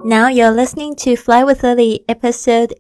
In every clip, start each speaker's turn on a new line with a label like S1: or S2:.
S1: Now you're listening to Fly with Lily, episode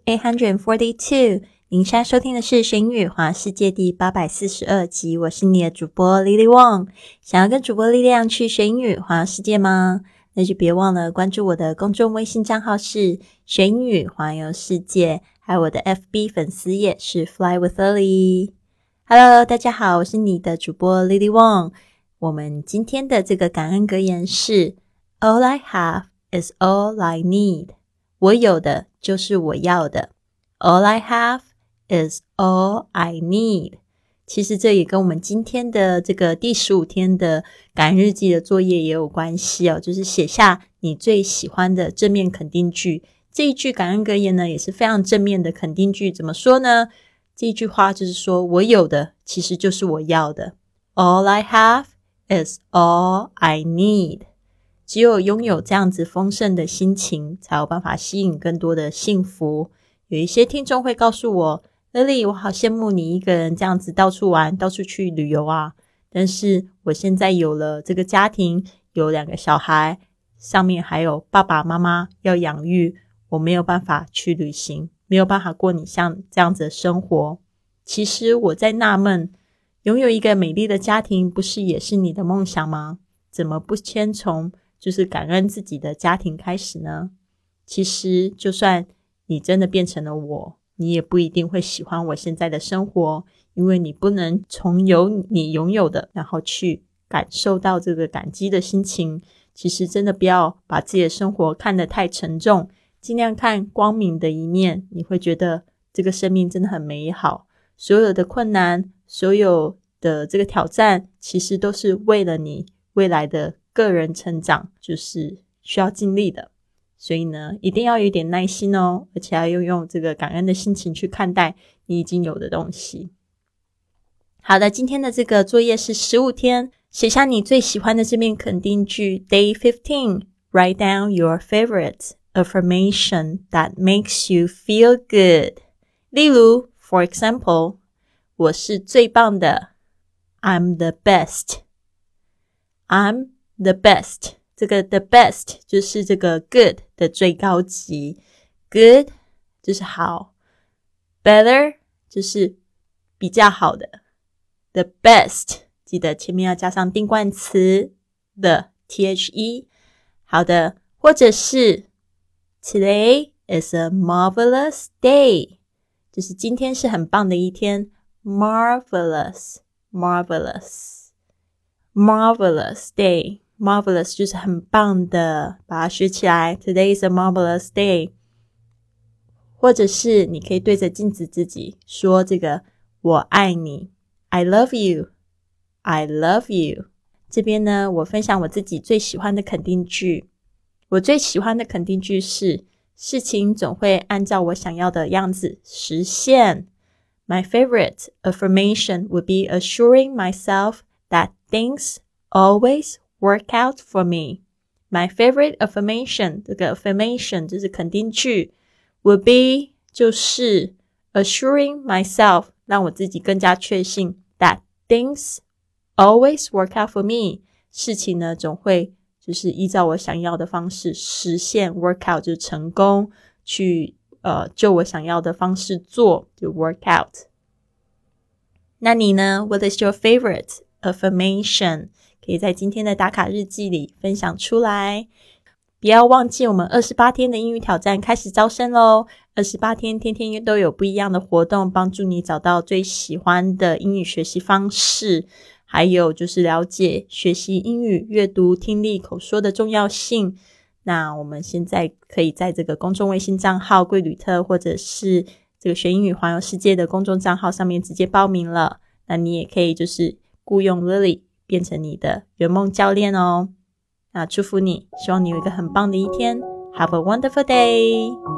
S1: 842. 您现在收听的是学英语华世界第842集，我是你的主播 Lily Wong。想要跟主播力量去学英语华世界吗？那就别忘了关注我的公众微信账号是学英语环游世界，还有我的 FB 粉丝页是 Fly with Lily。Hello， 大家好，我是你的主播 Lily Wong。我们今天的这个感恩格言是 All I have is all I need. 我有的就是我要的。All I have is all I need. 其实这也跟我们今天的这个第15天的感恩日记的作业也有关系哦，就是写下你最喜欢的正面肯定句。这一句感恩格言呢也是非常正面的肯定句，怎么说呢？这一句话就是说我有的其实就是我要的。All I have is all I need. 只有拥有这样子丰盛的心情，才有办法吸引更多的幸福。有一些听众会告诉我 Lily， 我好羡慕你一个人这样子到处玩，到处去旅游啊。但是我现在有了这个家庭，有2个小孩，上面还有爸爸妈妈要养育，我没有办法去旅行，没有办法过你像这样子的生活。其实我在纳闷，拥有一个美丽的家庭不是也是你的梦想吗？怎么不先从就是感恩自己的家庭开始呢？其实就算你真的变成了我，你也不一定会喜欢我现在的生活，因为你不能从你拥有的然后去感受到这个感激的心情。其实真的不要把自己的生活看得太沉重，尽量看光明的一面，你会觉得这个生命真的很美好。所有的困难，所有的这个挑战，其实都是为了你未来的个人成长，就是需要尽力的。所以呢，一定要有一点耐心哦，而且要用这个感恩的心情去看待你已经有的东西。好的，今天的这个作业是15天，写下你最喜欢的正面肯定句。Day 15, write down your favorite affirmation that makes you feel good. 例如 for example, 我是最棒的 I'm the best. I'm the best. 这个 the best 就是这个 good 的最高级， good 就是好， better 就是比较好的， the best 记得前面要加上定冠词的 the。 好的，或者是 Today is a marvelous day， 就是今天是很棒的一天， marvelous day， marvelous 就是很棒的，把它学起来， Today is a marvelous day。 或者是你可以对着镜子自己说这个我爱你， I love you， I love you。 这边呢，我分享我自己最喜欢的肯定句。我最喜欢的肯定句是事情总会按照我想要的样子实现。 My favorite affirmation would be assuring myself that things always work out for me. My favorite affirmation, 这个 affirmation 就是肯定句， would be 就是 assuring myself 让我自己更加确信 that things always work out for me， 事情呢总会就是依照我想要的方式实现， work out 就是成功，去就我想要的方式做，就 work out。 那你呢？ What is your favorite affirmation？ 可以在今天的打卡日记里分享出来。不要忘记我们28天的英语挑战开始招生咯。28天天天都有不一样的活动，帮助你找到最喜欢的英语学习方式，还有就是了解学习英语阅读听力口说的重要性。那我们现在可以在这个公众微信账号贵旅特，或者是这个学英语环游世界的公众账号上面直接报名了。那你也可以就是雇佣 Lily 变成你的圆梦教练哦。那祝福你，希望你有一个很棒的一天。Have a wonderful day!